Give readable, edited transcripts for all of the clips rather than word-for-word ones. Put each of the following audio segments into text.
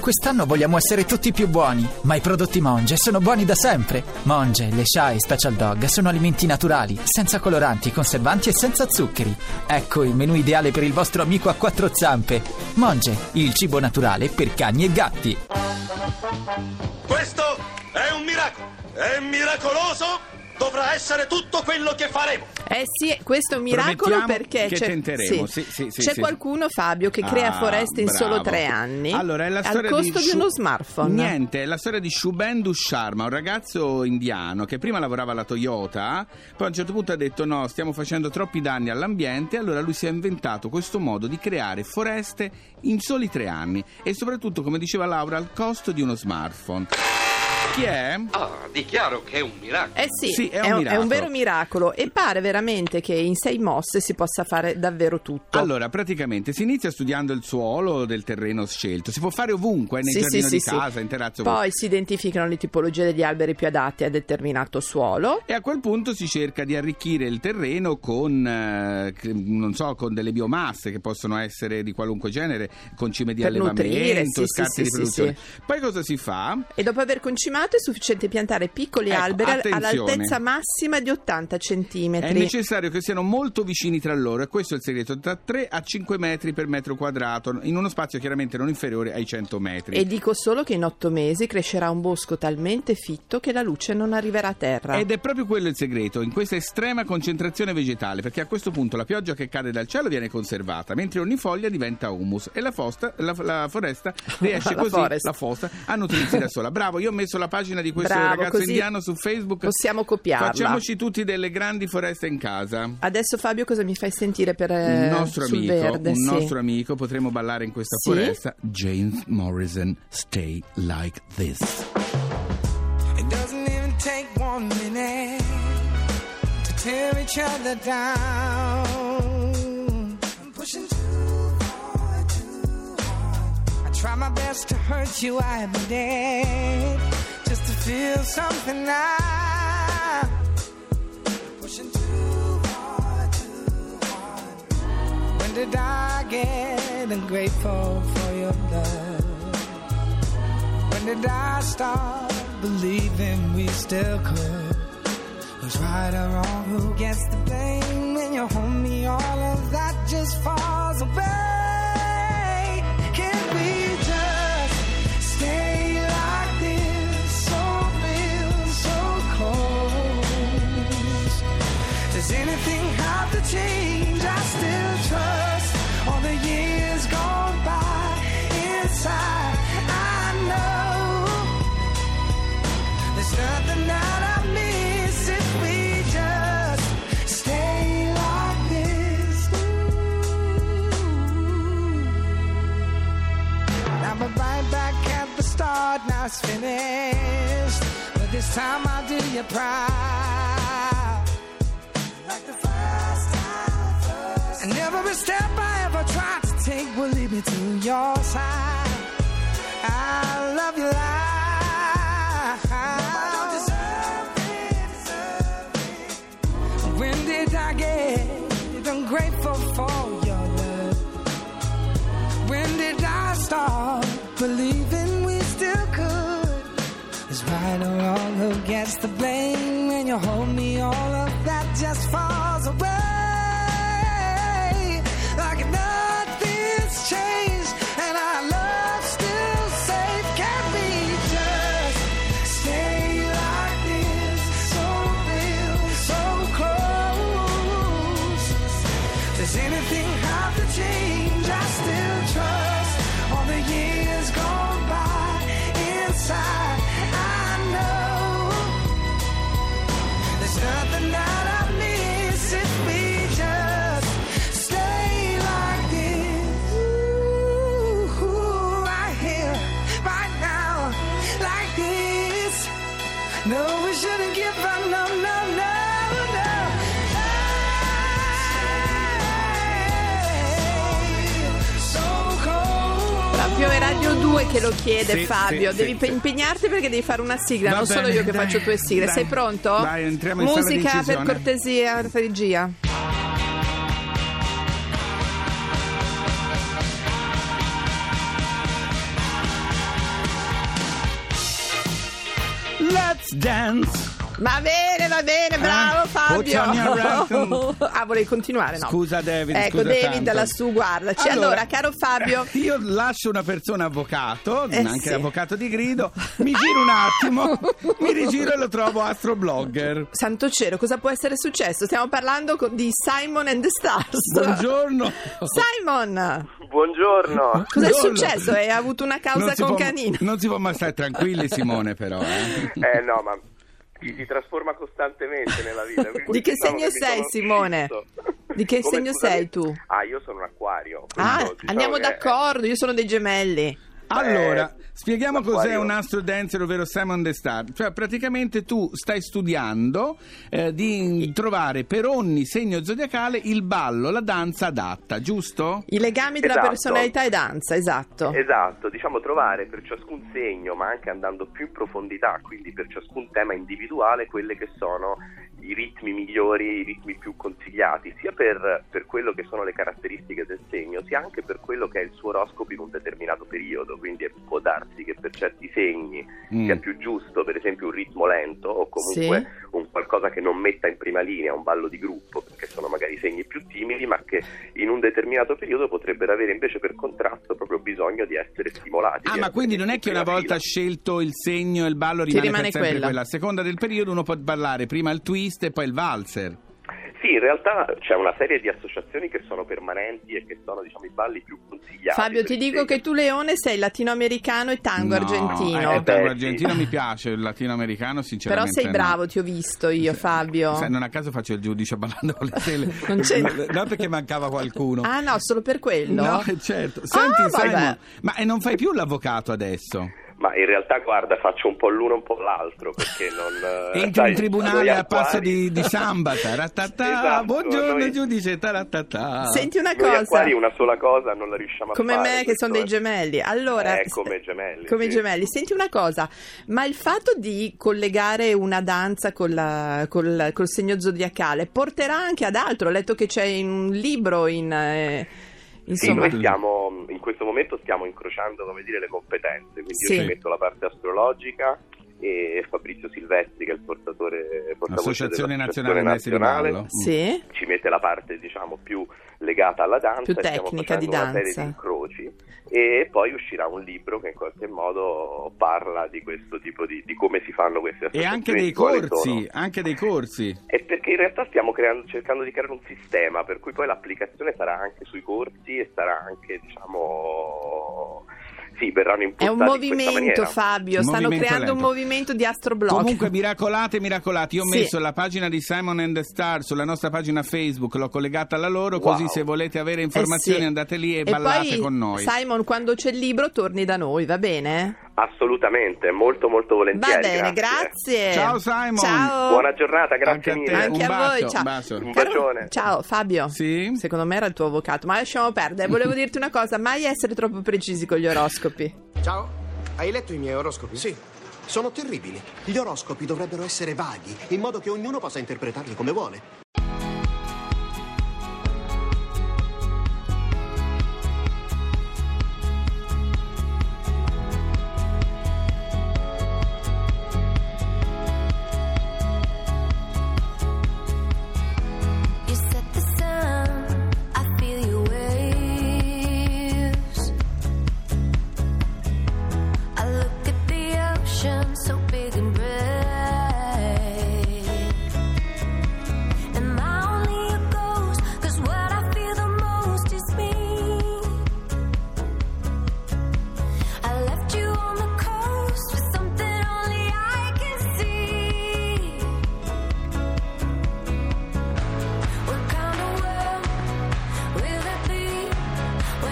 Quest'anno vogliamo essere tutti più buoni, ma i prodotti Monge sono buoni da sempre. Monge, le Sha e Special Dog sono alimenti naturali, senza coloranti, conservanti e senza zuccheri. Ecco il menù ideale per il vostro amico a quattro zampe. Monge, il cibo naturale per cani e gatti. Questo è un miracolo, è miracoloso. Dovrà essere tutto quello che faremo. Sì, questo è un miracolo. Promettiamo perché che tenteremo. Sì, c'è qualcuno, Fabio, che crea foreste in solo 3 anni. Allora, è la storia al costo di uno smartphone. Niente, è la storia di Shubhendu Sharma, un ragazzo indiano che prima lavorava alla Toyota, poi a un certo punto ha detto no, stiamo facendo troppi danni all'ambiente, allora lui si è inventato questo modo di creare foreste in soli 3 anni e soprattutto, come diceva Laura, al costo di uno smartphone. Chi è? Dichiaro che è un miracolo. Sì, è un vero miracolo e pare veramente che in 6 mosse si possa fare davvero tutto. Allora, praticamente si inizia studiando il suolo del terreno scelto, si può fare ovunque, nel giardino di casa, in terrazzo. Poi si identificano le tipologie degli alberi più adatti a determinato suolo e a quel punto si cerca di arricchire il terreno con, non so, con delle biomasse che possono essere di qualunque genere, concime di per allevamento, scarti di produzione. Poi cosa si fa? E dopo aver concimato è sufficiente piantare piccoli alberi all'altezza massima di 80 centimetri. È necessario che siano molto vicini tra loro e questo è il segreto, da 3 a 5 metri per metro quadrato, in uno spazio chiaramente non inferiore ai 100 metri. E dico solo che in 8 mesi crescerà un bosco talmente fitto che la luce non arriverà a terra. Ed è proprio quello il segreto, in questa estrema concentrazione vegetale, perché a questo punto la pioggia che cade dal cielo viene conservata, mentre ogni foglia diventa humus e la foresta riesce a nutrirsi da sola. Bravo, io ho messo la pagina di questo ragazzo indiano su Facebook. Possiamo copiarla. Facciamoci tutti delle grandi foreste in casa. Adesso Fabio cosa mi fai sentire per un nostro sul amico, verde? nostro amico, potremo ballare in questa foresta. James Morrison, Stay Like This. It doesn't even take 1 minute to tear each other down. I'm pushing too hard, too hard. I try my best to hurt you every day, just to feel something now. Pushing too hard, too hard. When did I get ungrateful for your love? When did I start believing we still could? Who's right or wrong? Who gets the blame? When you hold me, all of that just falls away. Can't we just stay like this? So real, so close. Does anything have to change? I still trust all the years gone by. Inside I know there's nothing that I miss if we just stay like this. Now we're right back at the start, now it's finished, but this time I'll do you proud, like the first time. And every step I ever tried to take will lead me to your side. I love you like I don't deserve it. When did I get ungrateful for your love? When did I start believing we still could? Is right or wrong, who gets the blame? When you hold me, all of that just falls away. Like nothing's changed and our love's still safe. Can't we just stay like this? So real, so close. Does anything have to change? I still trust all the years gone by. Inside I know there's nothing that I miss if we just stay like this. Ooh, right here, right now, like this. No, we shouldn't give up, no, no, no, no. Proprio è Radio 2 che lo chiede, Sì, Fabio. sì, devi sì. impegnarti perché devi fare una sigla, Va non bene, solo io che dai, faccio tue sigle. dai. Sei pronto? Dai, entriamo in sala di Musica per incisione. cortesia, regia. Let's dance. Va bene, bravo Fabio. Volevi continuare? No. Scusa David. Ecco, scusa David, tanto. lassù, guardaci. Allora, caro Fabio, io lascio una persona avvocato, anche sì. avvocato di grido, mi giro un attimo, mi rigiro e lo trovo astroblogger. santo cielo, cosa può essere successo? Stiamo parlando di Simon and the Stars. Buongiorno. Simon, Buongiorno. cosa è Buongiorno. successo? Hai avuto una causa con Canino? Non si può mai stare tranquilli, Simone, però. No, ma si trasforma costantemente nella vita. Di che segno sei, Simone? Di che segno sei tu? Io sono un acquario. Andiamo d'accordo, io sono dei gemelli. Allora, spieghiamo cos'è l'acquario. un astro dancer, ovvero Simon the Star. Cioè, praticamente tu stai studiando di trovare per ogni segno zodiacale il ballo, la danza adatta, giusto? I legami tra Esatto. personalità e danza, esatto. Esatto, diciamo trovare per ciascun segno, ma anche andando più in profondità, quindi per ciascun tema individuale, quelle che sono i ritmi migliori, i ritmi più consigliati, sia per quello che sono le caratteristiche del segno, sia anche per quello che è il suo oroscopo in un determinato periodo. Quindi può darsi che per certi segni sia più giusto, per esempio, un ritmo lento o comunque un qualcosa che non metta in prima linea un ballo di gruppo, perché sono magari segni più timidi, ma che in un determinato periodo potrebbero avere invece per contrasto proprio bisogno di essere stimolati. Ma quindi non è che una volta scelto il segno e il ballo rimane per sempre quella. A seconda del periodo uno può ballare prima il twist e poi il valzer. Sì, in realtà c'è una serie di associazioni che sono permanenti e che sono, diciamo, i balli più consigliati. Fabio, ti dico che tu, Leone, sei latinoamericano e tango argentino. Il tango argentino mi piace, il latinoamericano sinceramente però sei bravo, ti ho visto io, Fabio. Non a caso faccio il giudice ballando con le stelle. Non c'è... No, perché mancava qualcuno. Ah no, solo per quello? No, certo. Senti, Simon, vabbè. ma non fai più l'avvocato adesso? Ma in realtà, guarda, faccio un po' l'uno e un po' l'altro, perché non... Entri in tribunale a passo di samba, Esatto, buongiorno giudice, taratata. Senti una Noi cosa, acquari una sola cosa non la riusciamo a come fare. me che sono dei gemelli. Allora, come gemelli. come sì. gemelli. Senti una cosa, ma il fatto di collegare una danza col segno zodiacale porterà anche ad altro? Ho letto che c'è un libro Sì, noi in questo momento stiamo incrociando, come dire, le competenze, quindi io ci metto la parte astrologica e Fabrizio Silvestri, che è il portatore Associazione Nazionale Maestri di Ballo. Sì. Ci mette la parte, diciamo, più legata alla danza, più tecnica di danza, una serie di incroci, e poi uscirà un libro che in qualche modo parla di questo tipo di come si fanno queste associazioni. E anche dei corsi. E perché in realtà stiamo cercando di creare un sistema per cui poi l'applicazione sarà anche sui corsi e sarà anche, diciamo... Sì, verranno impostati. È un movimento, Fabio, stanno creando lento. un movimento di astroblog. Comunque miracolati, io ho messo la pagina di Simon and the Star sulla nostra pagina Facebook, l'ho collegata alla loro, così se volete avere informazioni andate lì e ballate poi, con noi. Simon, quando c'è il libro torni da noi, va bene? Assolutamente, molto molto volentieri. Va bene, grazie. Ciao Simon. Ciao. Buona giornata, grazie Anche mille. a te. Anche Un a bacio, voi, ciao. un bacio. Un bacione. Ciao Fabio. Sì? Secondo me era il tuo avvocato, ma lasciamo perdere. Volevo dirti una cosa, mai essere troppo precisi con gli oroscopi. Ciao, hai letto i miei oroscopi? Sì, sono terribili. Gli oroscopi dovrebbero essere vaghi, in modo che ognuno possa interpretarli come vuole. So big and bright.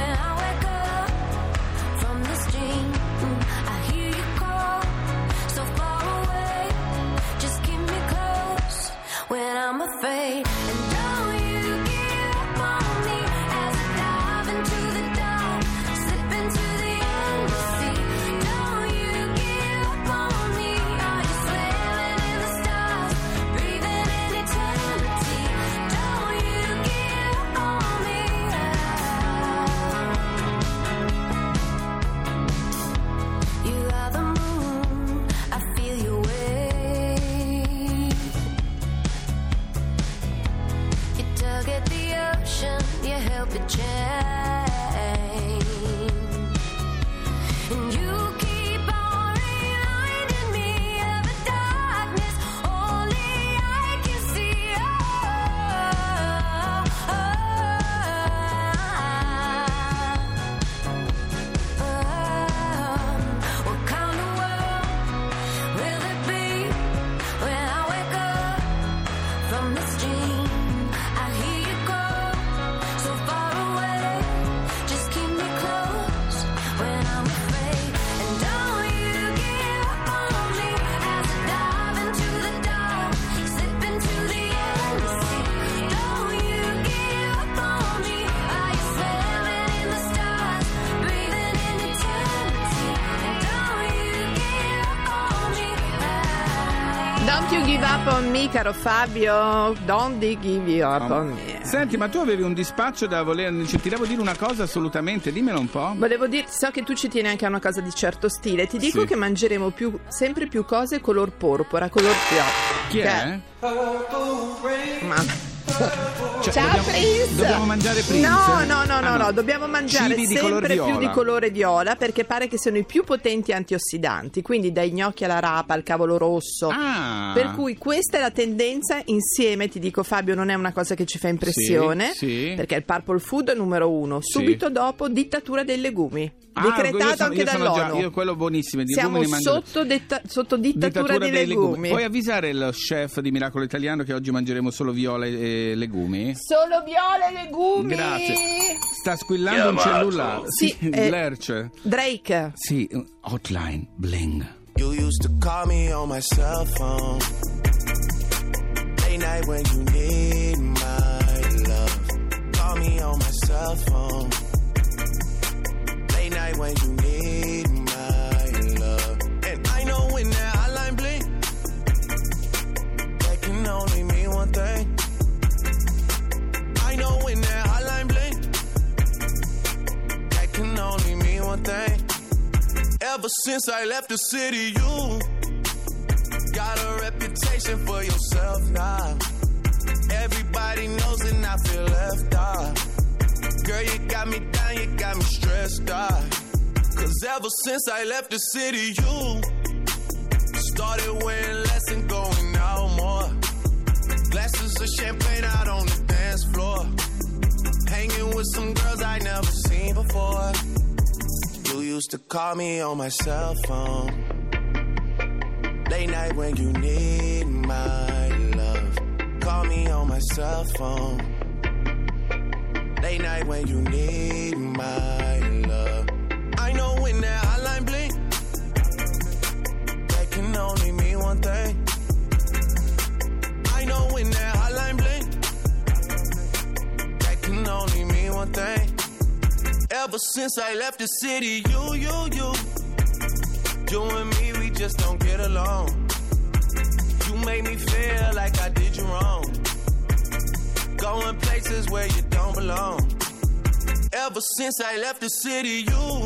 So Don't you give up on me, caro Fabio. Don't you give up on me. Senti, ma tu avevi un dispaccio da voler... Ti devo dire una cosa assolutamente, dimmelo un po'. Volevo dire, so che tu ci tieni anche a una cosa di certo stile. Ti dico che mangeremo sempre più cose color porpora, color pioppo. Chi è? Ma... Ciao Prince! Dobbiamo mangiare Prince? No, dobbiamo mangiare cibi sempre più di colore viola, perché pare che siano i più potenti antiossidanti, quindi dai gnocchi alla rapa al cavolo rosso. Per cui questa è la tendenza. Insieme, ti dico Fabio, non è una cosa che ci fa impressione, perché il purple food è numero 1. Subito dopo dittatura dei legumi, decretato anche dall'ONU. Io quello buonissimo, siamo sotto dittatura dei legumi. Puoi avvisare il chef di Miracolo Italiano che oggi mangeremo solo viola e legumi? Solo viola e legumi. Grazie. Sta squillando un cellulare. Sì, Lerch. Drake. Sì, Hotline Bling. You used to call me on my cell phone late night when you need my love. Call me on my cell phone late night when you need my love. And I know when that hotline bling, that can only mean one thing. I know when that hotline bling, that can only mean one thing. Ever since I left the city, you got a reputation for yourself now. Everybody knows and I feel left out. Girl, you got me down, you got me stressed out. Cause ever since I left the city, you started wearing less and going out more. Glasses of champagne out on the dance floor. Hanging with some girls I never seen before. You used to call me on my cell phone late night when you need my love. Call me on my cell phone late night when you need my love. I know when that hotline blink, that can only mean one thing. I know when that hotline blink, that can only mean one thing. Ever since I left the city, you and me, we just don't get along. You made me feel like I did you wrong, going places where you don't belong. Ever since I left the city, you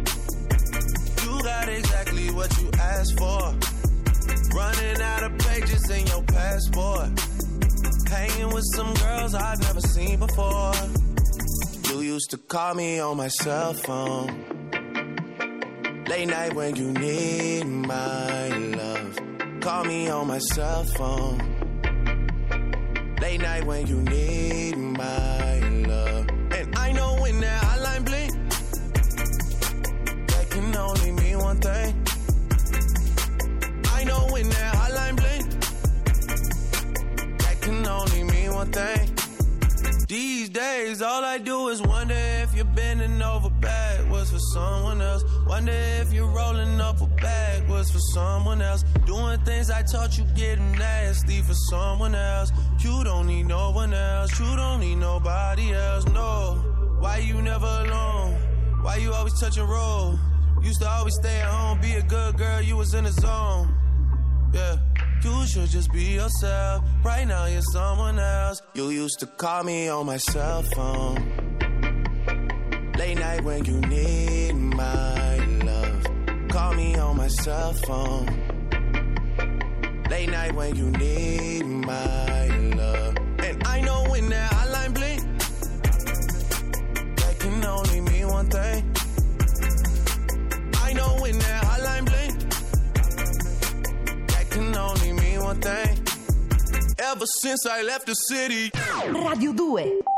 got exactly what you asked for. Running out of pages in your passport. Hanging with some girls I've never seen before. You used to call me on my cell phone late night when you need my love. Call me on my cell phone late night when you need my love. And I know when that hotline blink, that can only mean one thing. I know when that hotline blink, that can only mean one thing. These days, all I do is wonder if you're bending over backwards for someone else. Wonder if you're rolling up a backwards for someone else. Doing things I taught you, getting nasty for someone else. You don't need no one else. You don't need nobody else, no. Why you never alone? Why you always touch and roll? Used to always stay at home, be a good girl, you was in the zone. Yeah. You should just be yourself. Right now you're someone else. You used to call me on my cell phone late night when you need my love. Call me on my cell phone late night when you need my love. And I know when that hotline blink, that can only mean one thing. I know when that hotline blink, can only mean one thing. Ever since I left the city. Radio 2